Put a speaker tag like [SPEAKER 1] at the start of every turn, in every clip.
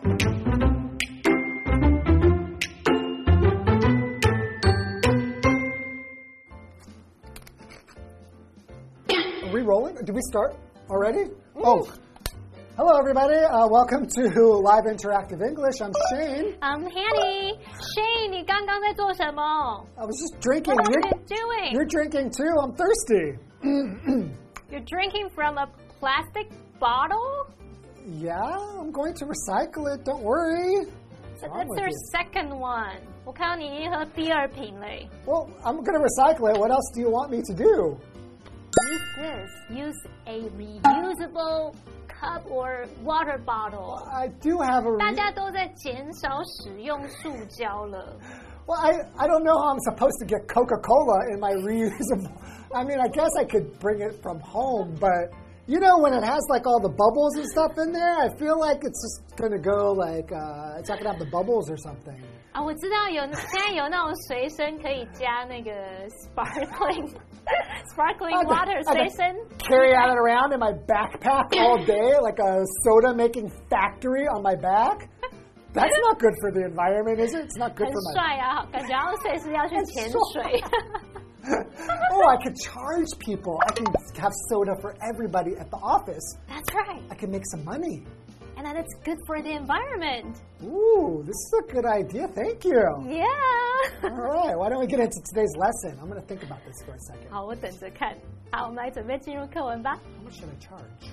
[SPEAKER 1] Are we rolling? Did we start already? Oh, hello everybody. Welcome to Live Interactive English. I'm Shane.
[SPEAKER 2] I'm Hanny. Shane, 你刚刚在做什么
[SPEAKER 1] I was just drinking.
[SPEAKER 2] What are you doing?
[SPEAKER 1] You're drinking too. I'm thirsty.
[SPEAKER 2] You're drinking from a plastic bottle?
[SPEAKER 1] Yeah, I'm going to recycle it. Don't worry.
[SPEAKER 2] That's your second one. 我看到你已经喝第二瓶嘞。
[SPEAKER 1] Well, I'm going to recycle it. What else do you want me to do?
[SPEAKER 2] Use this. Use a reusable cup or water bottle.
[SPEAKER 1] I do have a...
[SPEAKER 2] 大家都在减少使用塑胶了。
[SPEAKER 1] Well, I don't know how I'm supposed to get Coca-Cola in my reusable... I mean, I guess I could bring it from home, but... You know, when it has like all the bubbles and stuff in there, I feel like it's just going to go like... it's not going to have the bubbles or something.
[SPEAKER 2] 啊，我知道现在有那种随身可以加那个 sparkling water 随身
[SPEAKER 1] carry it around in my backpack all day like a soda making factory on my back. That's not good for the environment, is it? It's not good
[SPEAKER 2] 很
[SPEAKER 1] for my...
[SPEAKER 2] 帥啊，感觉好像隨時要去潛水。
[SPEAKER 1] Oh, I could charge people. I can have soda for everybody at the office.
[SPEAKER 2] That's right.
[SPEAKER 1] I can make some money.
[SPEAKER 2] And that's good for the environment.
[SPEAKER 1] Ooh, this is a good idea. Thank you.
[SPEAKER 2] Yeah.
[SPEAKER 1] All right, why don't we get into today's lesson? I'm going to think about this for a second.
[SPEAKER 2] 好，我等着看。好，我们来准备進入課文吧。
[SPEAKER 1] How much should I charge?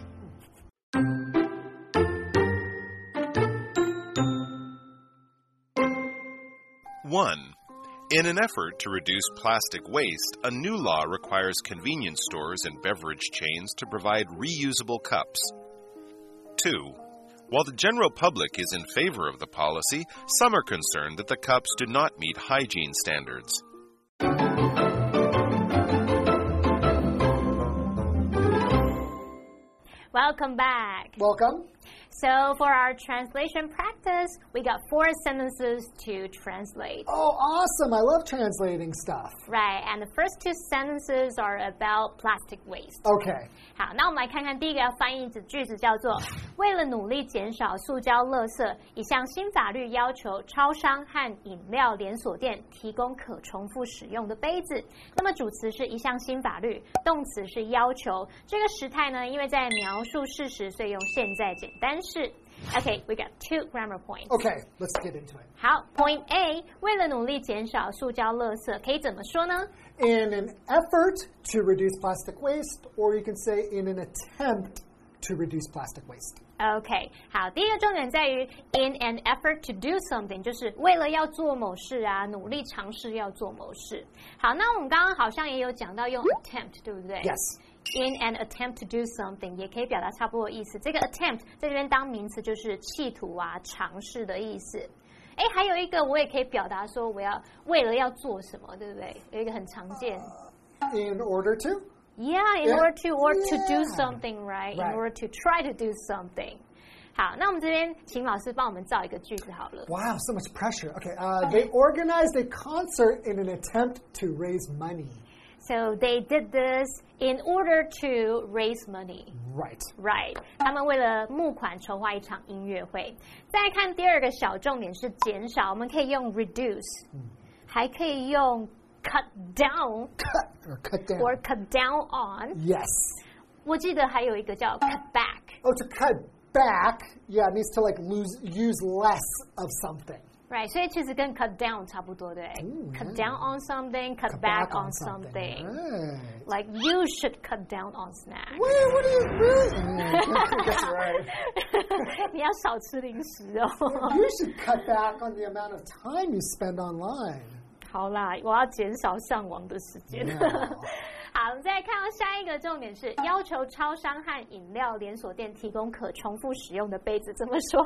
[SPEAKER 3] One, in an effort to reduce plastic waste, a new law requires convenience stores and beverage chains to provide reusable cups. 2. While the general public is in favor of the policy, some are concerned that the cups do not meet hygiene standards.
[SPEAKER 2] Welcome back.
[SPEAKER 1] Welcome.
[SPEAKER 2] So for our translation practice, we got 4 sentences to translate.
[SPEAKER 1] Oh, awesome. I love translating stuff.
[SPEAKER 2] Right, and the first 2 sentences are about plastic waste.
[SPEAKER 1] Okay.
[SPEAKER 2] 好，那我们来看看第一个要翻译的句子叫做为了努力减少塑胶垃圾，一项新法律要求超商和饮料连锁店提供可重复使用的杯子。那么主词是一项新法律，动詞是要求。這個時態呢，因為在描述事實，所以用現在簡單式。Okay, we got 2 grammar points.
[SPEAKER 1] Okay, let's get into it.
[SPEAKER 2] 好 ，Point A， 为了努力減少塑膠垃圾，可以怎麼說呢？
[SPEAKER 1] In an effort to reduce plastic waste, or you can say in an attempt to reduce plastic waste.
[SPEAKER 2] OK， 好，第一個重點在於 in an effort to do something， 就是為了要做某事啊，努力嘗試要做某事。好，那我們剛剛好像也有講到用 attempt， 對不對
[SPEAKER 1] Yes.In
[SPEAKER 2] an attempt to do something 也可以表達差不多的意思。這個 attempt 在這邊當名詞就是企圖啊、嘗試的意思。哎，還有一個我也可以表達說我要為了要做什麼，對不對？有一個很常見。
[SPEAKER 1] In order to?
[SPEAKER 2] Yeah, in order to or to do something, right? In order to try to do something. 好，那我們這邊請老師幫我們造一個句子好了。
[SPEAKER 1] Wow, so much pressure. Okay, they organized a concert in an attempt to raise money.So
[SPEAKER 2] they did this in order to raise money.
[SPEAKER 1] Right.
[SPEAKER 2] 他們為了募款籌劃一場音樂會。再來看第二個小重點是減少，我們可以用 reduce，還可以用 cut down or cut down on.
[SPEAKER 1] Yes.
[SPEAKER 2] 我記得還有一個叫 cut back.
[SPEAKER 1] Oh, to cut back, yeah, it means to like use less of something.Right,
[SPEAKER 2] 所以其實跟 cut down 差不多，對 Cut down on something, cut back on something.
[SPEAKER 1] Right.
[SPEAKER 2] Like you should cut down on snacks.
[SPEAKER 1] Wait, what do you mean? That's right.
[SPEAKER 2] 你要少吃零食哦。
[SPEAKER 1] You should cut back on the amount of time you spend online.
[SPEAKER 2] 好啦，我要減少上網的時間。
[SPEAKER 1] Yeah.
[SPEAKER 2] 好，我們再來看到下一個重點是要求超商和飲料連鎖店提供可重複使用的杯子，怎麼說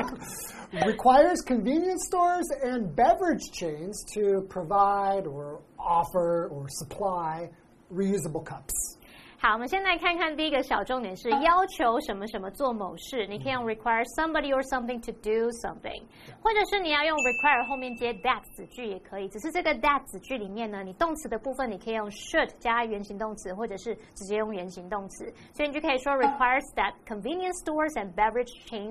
[SPEAKER 1] ？Requires convenience stores and beverage chains to provide or offer or supply reusable cups.
[SPEAKER 2] 好，我們先來看看第一個小重點是要求什麼什麼做某事，你可以用 require somebody or something to do something， 或者是你要用 require 後面接 that 子句也可以，只是這個 that 子句裡面呢，你動詞的部分你可以用 should 加原形動詞，或者是直接用原形動詞，所以你就可以說 requires that convenience stores and beverage chains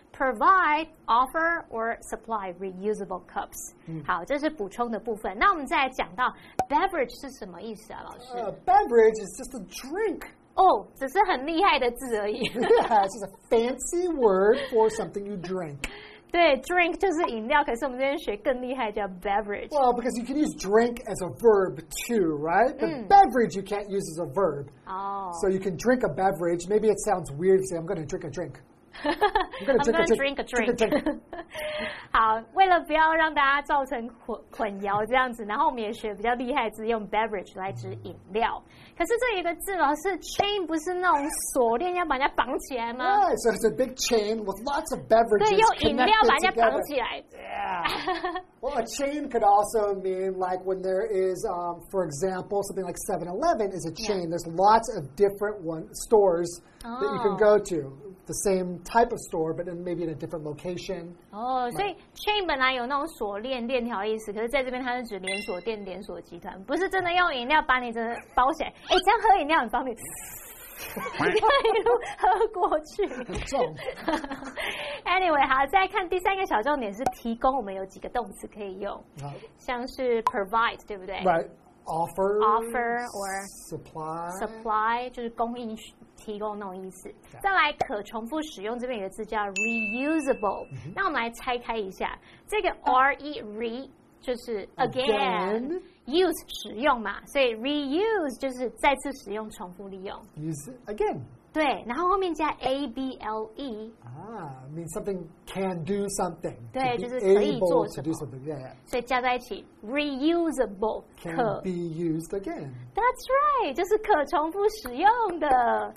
[SPEAKER 2] provide, offer, or supply reusable cups. 好，这是補充的部分。那我們再來講到 beverage 是什麼意思啊，老師
[SPEAKER 1] ？Beverage is just a drink.
[SPEAKER 2] 哦，只是很厲害的字而已。
[SPEAKER 1] Yeah, it's just a fancy word for something you drink.
[SPEAKER 2] 对 ，drink 就是飲料，可是我們這邊學更厲害，叫 beverage.
[SPEAKER 1] Well, because you can use drink as a verb too, right? But beverage you can't use as a verb.
[SPEAKER 2] Oh.
[SPEAKER 1] So you can drink a beverage. Maybe it sounds weird to say, I'm going to drink a drink.
[SPEAKER 2] I'm going to drink a drink. 好，为了不要讓大家造成混淆這樣子，然後我們也學比較厲害的字，用 beverage 來指飲料。可是這有一個字，老師 chain 不是那種鎖鏈要把人家綁起來嗎？
[SPEAKER 1] Yeah, so it's a big chain with lots of beverages.
[SPEAKER 2] 對，用飲料把人家綁起來。
[SPEAKER 1] Yeah. Well, a chain could also mean like when there is, for example, something like 7-Eleven is a chain. There's lots of different stores that you can go to. The same type of store, but maybe in a different location.
[SPEAKER 2] 哦，所以 chain 本來有那种鎖鏈、鏈條的意思，可是在這邊它是指連鎖店、連鎖集團，不是真的用飲料把你真的包起來。哎，這樣喝飲料很方便，一路喝過去。
[SPEAKER 1] 很重。
[SPEAKER 2] Anyway， 好，再看第三個小重點是提供，我們有幾個動詞可以用，像是 provide， 對不對？
[SPEAKER 1] Right。Offer
[SPEAKER 2] or supply 就是供應。提供那種意思。再來可重複使用，這邊有個字叫 reusable。那我們來拆開一下，這個 re 就是 again use 使用嘛，所以 reuse 就是再次使用、重複利用。
[SPEAKER 1] Use again。
[SPEAKER 2] 对，然后后面加 able。
[SPEAKER 1] means something can do something。
[SPEAKER 2] 对，就是可以做什么。所以加在一起 reusable
[SPEAKER 1] can be used again。
[SPEAKER 2] That's right， 就是可重複使用的。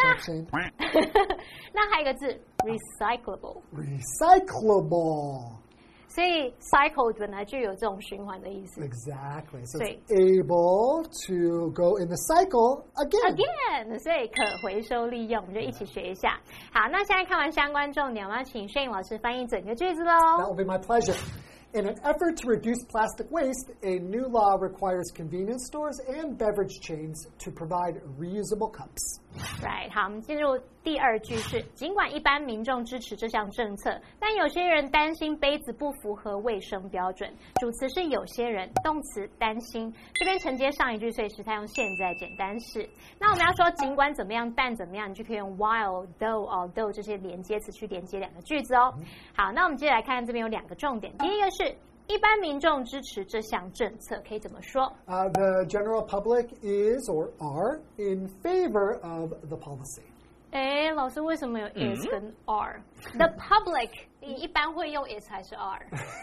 [SPEAKER 2] 那還有一個字 recyclable。所以 cycle 本來就有這種循環的意思。
[SPEAKER 1] Exactly. So it's able to go in the cycle again.
[SPEAKER 2] 所以可回收利用，我們就一起學一下。好，那現在看完相關重點，我們要請Shane老師翻譯整個句子嘍。
[SPEAKER 1] That will be my pleasure. In an effort to reduce plastic waste, a new law requires convenience stores and beverage chains to provide reusable cups.
[SPEAKER 2] Right， 好，我們進入第二句是：儘管一般民眾支持這項政策，但有些人擔心杯子不符合衛生標準。主詞是有些人，動詞擔心。這邊承接上一句，所以時態用現在簡單式。那我們要說儘管怎麼樣，但怎麼樣，你就可以用 while、though、although 這些連接詞去連接兩個句子哦。好，那我們接下來看這邊有兩個重點。第一個是一般民眾支持這項政策，可以怎麼說
[SPEAKER 1] ？The general public is or are in favor of the policy.
[SPEAKER 2] 哎，老師，為什麼有 is 跟 are？The public， 你一般會用 is 還是 are？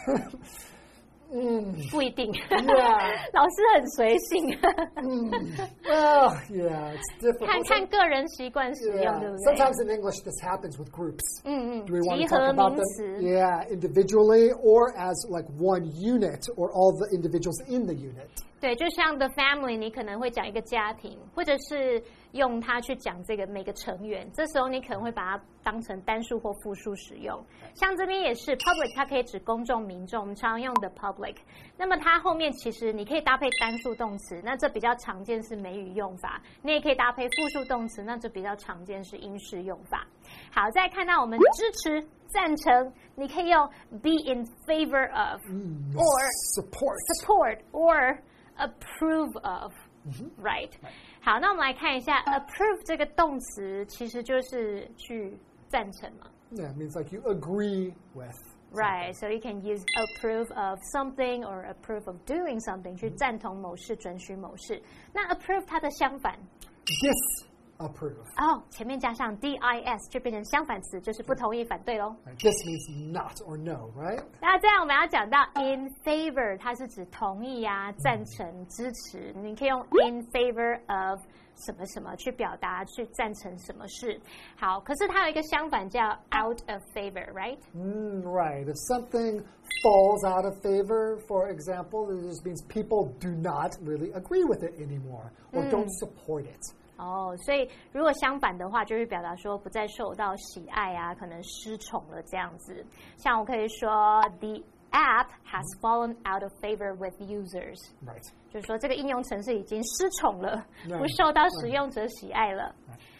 [SPEAKER 2] 不一定。老師很隨性。
[SPEAKER 1] Well, yeah, it's different.
[SPEAKER 2] 看個人習慣使用，對不對？
[SPEAKER 1] Sometimes in English this happens with groups. Do we want to
[SPEAKER 2] 集合
[SPEAKER 1] talk about
[SPEAKER 2] 名詞。
[SPEAKER 1] them? Yeah, individually or as like one unit or all the individuals in the unit.
[SPEAKER 2] 对，就像 the family， 你可能會講一個家庭，或者是用它去講這個每個成員。這時候你可能會把它當成單數或複數使用。像這邊也是 public， 它可以指公眾民眾，我們常用的 public。那麼它後面其實你可以搭配單數動詞，那這比較常見是美語用法。你也可以搭配複數動詞，那這比較常見是英式用法。好，再看到我們支持。贊成，你可以用 be in favor of or support or approve of, right? 好，那我們來看一下 approve 這個動詞，其實就是去贊成嘛。
[SPEAKER 1] Yeah, it means like you agree with.
[SPEAKER 2] Right, so you can use approve of something or approve of doing something 去贊同某事、准許某事。那 approve 它的相反
[SPEAKER 1] disapprove.
[SPEAKER 2] 哦，前面加上 dis 就變成相反詞，就是不同意、反對咯。
[SPEAKER 1] This means not or no, right?
[SPEAKER 2] 那這樣我們要講到 in favor， 它是指同意啊、贊成、支持。你可以用 in favor of 什麼什麼去表達去贊成什麼事。好，可是它有一個相反叫 out of favor, right?
[SPEAKER 1] Right. If something falls out of favor, for example, it just means people do not really agree with it anymore or don't support it.
[SPEAKER 2] 哦，所以如果相反的話，就是表達說不再受到喜愛啊，可能失寵了這樣子。像我可以說 ，the app has fallen out of favor with users，
[SPEAKER 1] right.
[SPEAKER 2] 就是說這個應用程式已經失寵了，不受到使用者喜愛了。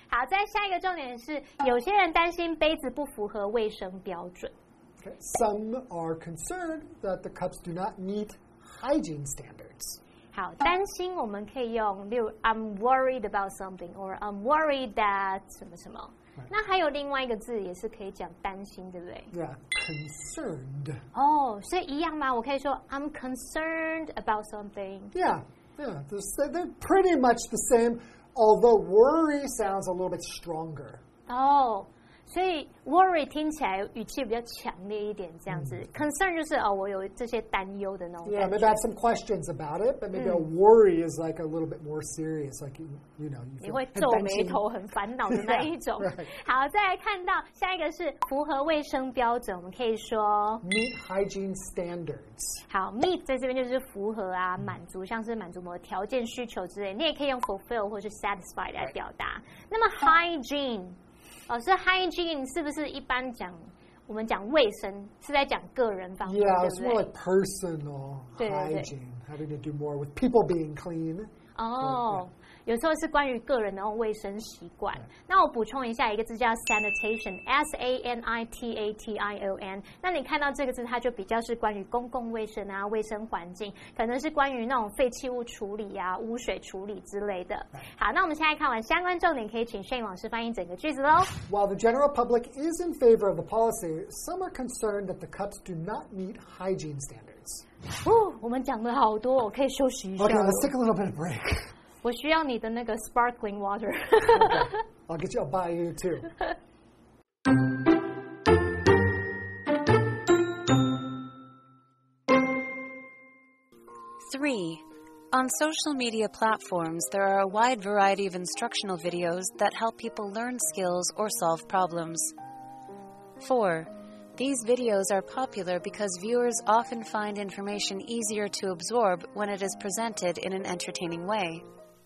[SPEAKER 2] 好，再下一個重點是，有些人擔心杯子不符合衛生標準。
[SPEAKER 1] Okay. Some are concerned that the cups do not meet hygiene standards.
[SPEAKER 2] 好，擔心我們可以用，例如 I'm worried about something or I'm worried that 什麼什麼。那還有另外一個字也是可以講擔心，對不對
[SPEAKER 1] Yeah, concerned.
[SPEAKER 2] 哦，所以一樣嗎？我可以說 I'm concerned about something.
[SPEAKER 1] Yeah, they're pretty much the same, although worry sounds a little bit stronger.
[SPEAKER 2] 哦。所以 worry 聽起來語氣比較強烈一點，這樣子。concern 就是我有這些擔憂的那種感覺。
[SPEAKER 1] Yeah, maybe I have some questions about it, but maybe a worry is like a little bit more serious, like you know.
[SPEAKER 2] 你會皺眉頭、很煩惱的那一種。
[SPEAKER 1] Right.
[SPEAKER 2] 好，再來看到下一個是符合衛生標準，我們可以說
[SPEAKER 1] meet hygiene standards.
[SPEAKER 2] 好 ，meet 在這邊就是符合啊，滿足，像是滿足某個條件需求之類，你也可以用 fulfill 或是 satisfy 來表達。那麼 hygiene。所以 hygiene 是不是一般講我們講衛生是在講個人方面，
[SPEAKER 1] Yeah,
[SPEAKER 2] 對不對？
[SPEAKER 1] it's more like personal
[SPEAKER 2] 對對對
[SPEAKER 1] hygiene, having to do more with people being clean.
[SPEAKER 2] 哦，有時候是關於個人的那種衛生習慣。那我補充一下，一個字叫 sanitation，S-A-N-I-T-A-T-I-O-N。那你看到這個字，它就比較是關於公共衛生啊、衛生環境，可能是關於那種廢棄物處理啊、污水處理之類的。好，那我們現在看完相關重點，可以請 Shane 老師翻譯整個句子嘍。
[SPEAKER 1] While the general public is in favor of the policy, some are concerned that the cups do not meet hygiene standards.
[SPEAKER 2] 我們講了好多，我可以休息一下。
[SPEAKER 1] Okay, let's take a little bit of break.
[SPEAKER 2] 我需要你的那個 sparkling water.
[SPEAKER 1] Okay. I'll get you. I'll buy you too.
[SPEAKER 4] Three, on social media platforms, there are a wide variety of instructional videos that help people learn skills or solve problems. 4. These videos are popular because viewers often find information easier to absorb when it is presented in an entertaining way.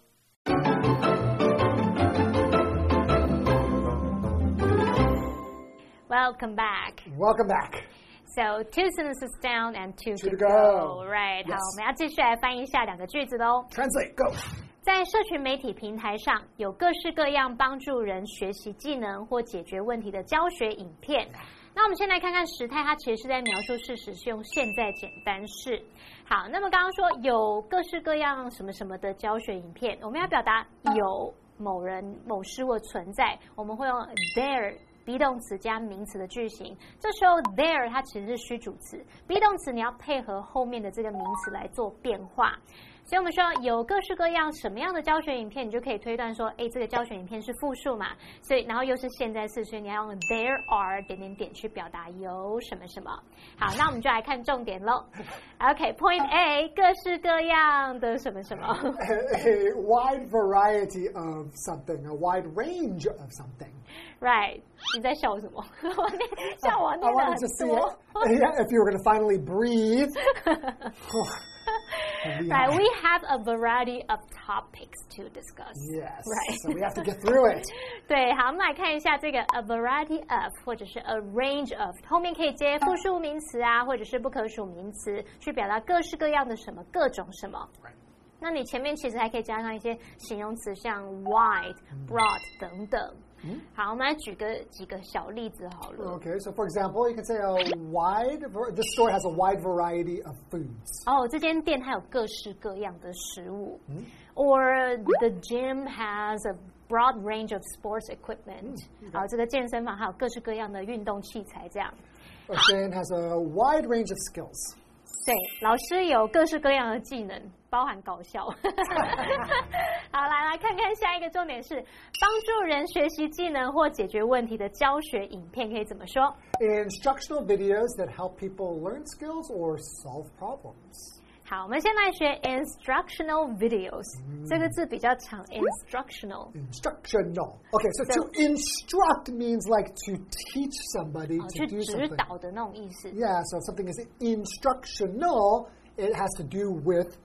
[SPEAKER 2] Welcome back.
[SPEAKER 1] Welcome back.
[SPEAKER 2] So, 2 sentences down and 2 to
[SPEAKER 1] go.
[SPEAKER 2] Right.
[SPEAKER 1] Yes.
[SPEAKER 2] 好，我们要继續來翻譯下兩個句子嘍。
[SPEAKER 1] Translate, go.
[SPEAKER 2] 在社群媒體平台上，有各式各樣幫助人學習技能或解決問題的教學影片。那我們先來看看時態，它其實是在描述事實，是用現在簡單式。好，那麼剛剛說有各式各樣什麼什麼的教學影片，我們要表達有某人某事物存在，我們會用 there be 動詞加名詞的句型。這時候 there 它其實是虛主詞 ，be 動詞你要配合後面的這個名詞來做變化。所以我們說有各式各樣什麼樣的教學影片，你就可以推斷說，這個教學影片是複數嘛，所以然後又是現在式，所以你要用 there are 點點點去表達有什麼什麼。好，那我們就來看重點嘍。OK，Point A， 各式各樣的什麼什麼。
[SPEAKER 1] A wide variety of something, a wide range of something.
[SPEAKER 2] Right， 你在笑什麼？笑我念得很多。
[SPEAKER 1] I wanted to see it. Yeah, if you were going to finally breathe.
[SPEAKER 2] Right, we have a variety of topics to discuss.
[SPEAKER 1] Yes,
[SPEAKER 2] right.
[SPEAKER 1] So we have to get through it.
[SPEAKER 2] 对，好，我们来看一下这个 a variety of 或者是 a range of， 後面可以接複數名詞啊，或者是不可數名詞，去表達各式各樣的什麼，各種什麼。
[SPEAKER 1] Right.
[SPEAKER 2] 那你前面其實還可以加上一些形容詞，像 wide、broad 等等。好，我們來舉幾個小例子好了。
[SPEAKER 1] Okay, so for example, you can say this store has a wide variety of foods.
[SPEAKER 2] 这間店它有各式各樣的食物。Or the gym has a broad range of sports equipment. 好，這個健身房還有各式各樣的運動器材，這樣。
[SPEAKER 1] Or Shane has a wide range of skills.
[SPEAKER 2] 對，老師有各式各樣的技能，包含搞笑。好，來看看下一個重點是幫助人學習技能或解決問題的教學影片，可以怎麼說
[SPEAKER 1] ？Instructional videos that help people learn skills or solve problems.
[SPEAKER 2] 好，我們先來學 instructional videos。這個字比較長 ，instructional。
[SPEAKER 1] Instructional. Okay, so to instruct means like to teach somebody to do something.
[SPEAKER 2] 去指導的那種意思。
[SPEAKER 1] Yeah, so if something is instructional, it has to do with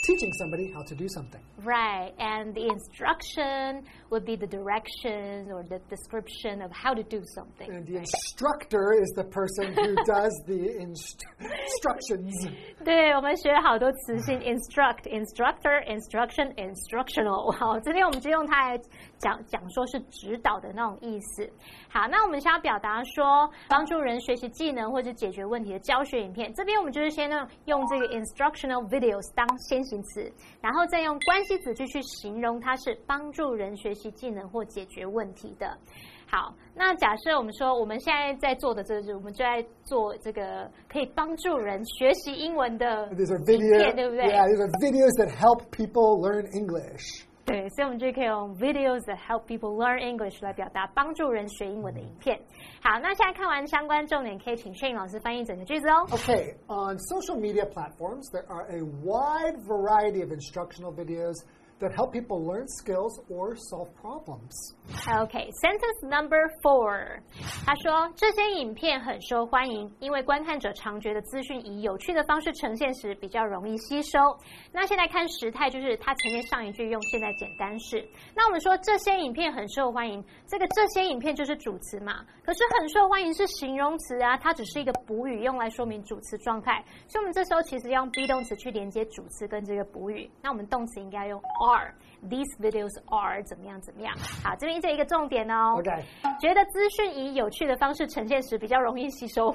[SPEAKER 1] teaching somebody how to do something.
[SPEAKER 2] Right, and the instruction would be the directions or the description of how to do something.
[SPEAKER 1] And the instructor is the person who does the instructions.
[SPEAKER 2] 对，我们学了好多词性 ，instruct, instructor, instruction, instructional。好，这边我们就用它来讲说是指导的那种意思。好，那我们想要表达说帮助人学习技能或者解决问题的教学影片，这边我们就是先用这个 instructional videos 当先行词，然后再用关系子句去形容它是帮助人学习技能或解决问题的。好，那假設我們說我們現在在做的這個，我們就在做這個可以幫助人學習英文的影片，對不對？
[SPEAKER 1] Yeah, these are videos that help people learn English.
[SPEAKER 2] 對，所以我們就可以用 videos that help people learn English 來表達幫助人學英文的影片。好，那現在看完相關重點，可以請Shane老師翻譯整個句子哦。
[SPEAKER 1] Okay, on social media platforms, there are a wide variety of instructional videos that help people learn skills or solve problems.
[SPEAKER 2] Okay, sentence number 4. 他說這些影片很受歡迎，因為觀看者常覺得資訊以有趣的方式呈現時比較容易吸收。那現在看時態，就是他前面上一句用現在簡單式。那我們說這些影片很受歡迎，這些影片就是主詞嘛。可是很受歡迎是形容詞啊，它只是一個補語，用來說明主詞狀態。所以我們這時候其實要用 be 動詞去連接主詞跟這個補語。那我們動詞應該用 are。These videos are 怎麼樣怎麼樣。好，這邊這一個重點哦。
[SPEAKER 1] Okay.
[SPEAKER 2] 覺得資訊以有趣的方式呈現時比較容易吸收。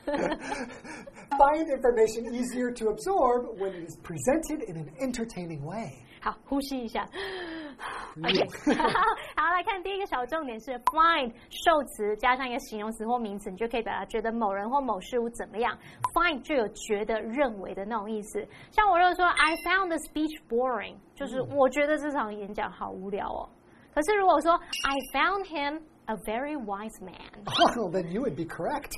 [SPEAKER 1] Find information easier to absorb when it is presented in an entertaining way.
[SPEAKER 2] 好，呼吸一下。OK， 好，來看第一個小重點是 find 受詞加上一個形容詞或名詞，你就可以表達覺得某人或某事物怎麼樣。find 就有覺得、認為的那種意思。像我如果說 I found the speech boring， 就是我覺得這場演講好無聊哦。可是如果說 I found him a very wise man，
[SPEAKER 1] well, then you would be correct.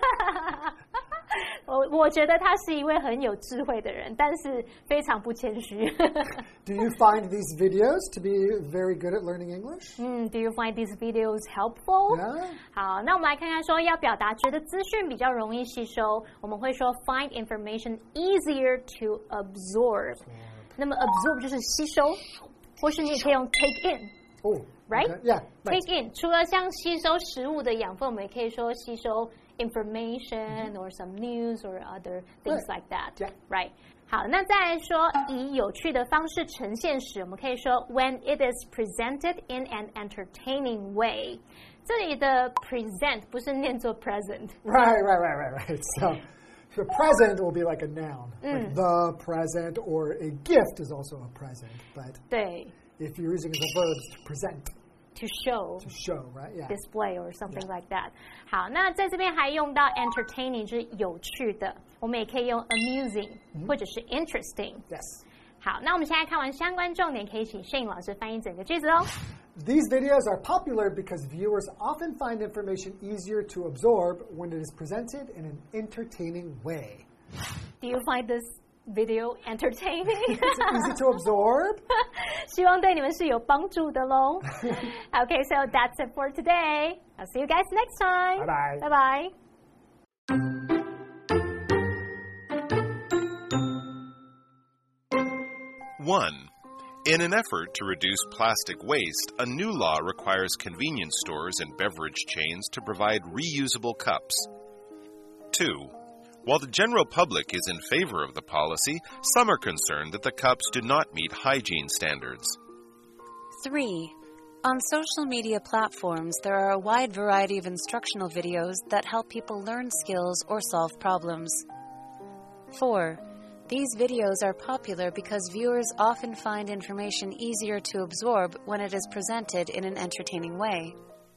[SPEAKER 2] 我覺得他是一位很有智慧的人，但是非常不謙虛。
[SPEAKER 1] Do you find these videos to be very good at learning English?
[SPEAKER 2] Do you find these videos helpful?
[SPEAKER 1] Yeah.
[SPEAKER 2] 好，那我們來看看說要表達覺得資訊比較容易吸收，我們會說 find information easier to absorb. 那麼 absorb 就是吸收，或是你也可以用 take in。Right?
[SPEAKER 1] Okay. Yeah. Right.
[SPEAKER 2] Take in 除了像吸收食物的養分，我們也可以說吸收 information or some news or other things like that.
[SPEAKER 1] Yeah.
[SPEAKER 2] Right? 好，那再來說以有趣的方式呈現時，我們可以說 when it is presented in an entertaining way. 這裡的 present 不是念作 present.
[SPEAKER 1] Right. So present will be like a noun, like the present, or a gift is also a present. But
[SPEAKER 2] 對。
[SPEAKER 1] If you're using the verbs to present,
[SPEAKER 2] to show,
[SPEAKER 1] right? Yeah.
[SPEAKER 2] Display or something like that. 好，那在這邊還用到 entertaining 就是有趣的，我們也可以用 amusing 或者是 interesting.
[SPEAKER 1] Yes.
[SPEAKER 2] 好，那我們現在看完相關重點，可以請Shane老師翻譯整個句子哦。
[SPEAKER 1] These videos are popular because viewers often find information easier to absorb when it is presented in an entertaining way.
[SPEAKER 2] Do you find this video entertaining?
[SPEAKER 1] It's easy to absorb.
[SPEAKER 2] 希望對你們是有幫助的咯。Okay, so that's it for today. I'll see you guys next time.
[SPEAKER 1] Bye-bye.
[SPEAKER 2] Bye-bye.
[SPEAKER 3] One, in an effort to reduce plastic waste, a new law requires convenience stores and beverage chains to provide reusable cups. 2, while the general public is in favor of the policy, some are concerned that the cups do not meet hygiene standards.
[SPEAKER 4] 3. On social media platforms, there are a wide variety of instructional videos that help people learn skills or solve problems. 4. These videos are popular because viewers often find information easier to absorb when it is presented in an entertaining way.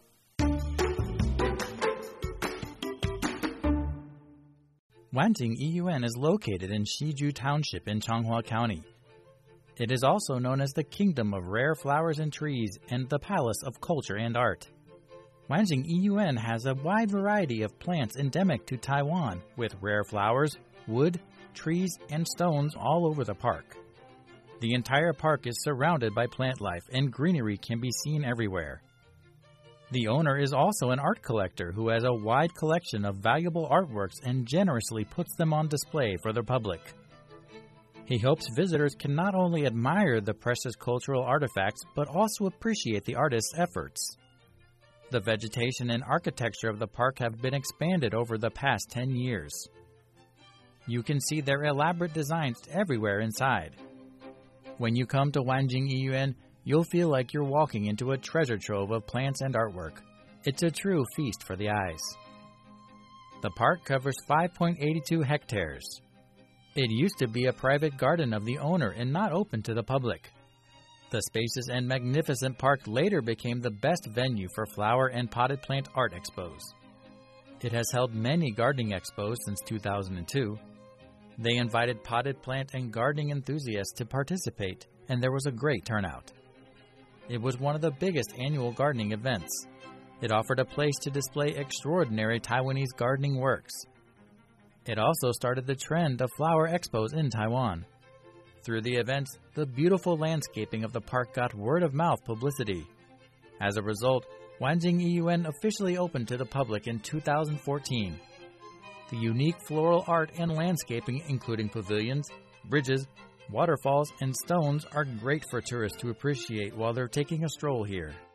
[SPEAKER 5] Wanting EUN is located in Shiju Township in Changhua County. It is also known as the Kingdom of Rare Flowers and Trees and the Palace of Culture and Art. Wanting EUN has a wide variety of plants endemic to Taiwan, with rare flowers, wood, trees, and stones all over the park. The entire park is surrounded by plant life, and greenery can be seen everywhere. The owner is also an art collector who has a wide collection of valuable artworks and generously puts them on display for the public. He hopes visitors can not only admire the precious cultural artifacts, but also appreciate the artist's efforts. The vegetation and architecture of the park have been expanded over the past 10 years. You can see their elaborate designs everywhere inside. When you come to Wanjing Yiyuan, you'll feel like you're walking into a treasure trove of plants and artwork. It's a true feast for the eyes. The park covers 5.82 hectares. It used to be a private garden of the owner and not open to the public. The spacious and magnificent park later became the best venue for flower and potted plant art expos. It has held many gardening expos since 2002. They invited potted plant and gardening enthusiasts to participate, and there was a great turnout. It was one of the biggest annual gardening events. It offered a place to display extraordinary Taiwanese gardening works. It also started the trend of flower expos in Taiwan. Through the events, the beautiful landscaping of the park got word-of-mouth publicity. As a result, Wanjing Yiyuan officially opened to the public in 2014. The unique floral art and landscaping, including pavilions, bridges, waterfalls, and stones, are great for tourists to appreciate while they're taking a stroll here.